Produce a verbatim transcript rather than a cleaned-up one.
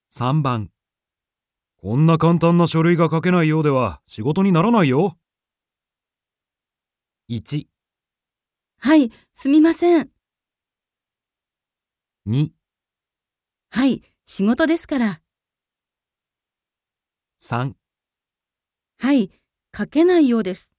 さんばん、こんな簡単な書類が書けないようでは仕事にならないよ。いち、 はい、すみません。 に、 はい、仕事ですから。 さん、 はい、書けないようです。